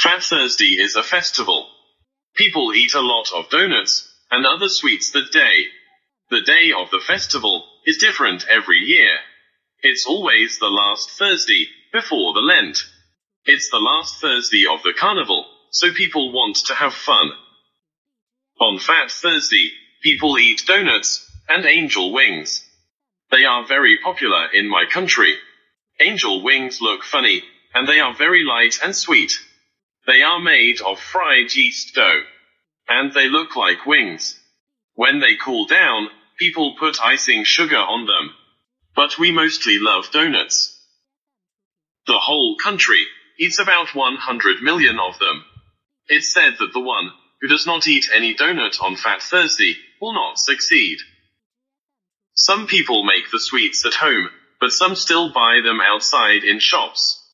Fat Thursday is a festival. People eat a lot of donuts and other sweets that day. The day of the festival is different every year. It's always the last Thursday before the Lent. It's the last Thursday of the carnival, so people want to have fun. On Fat Thursday, people eat donuts and angel wings. They are very popular in my country. Angel wings look funny, and they are very light and sweet. They are made of fried yeast dough, and they look like wings. When they cool down, people put icing sugar on them. But we mostly love donuts. The whole country eats about 100 million of them. It's said that the one who does not eat any donut on Fat Thursday will not succeed. Some people make the sweets at home, but some still buy them outside in shops.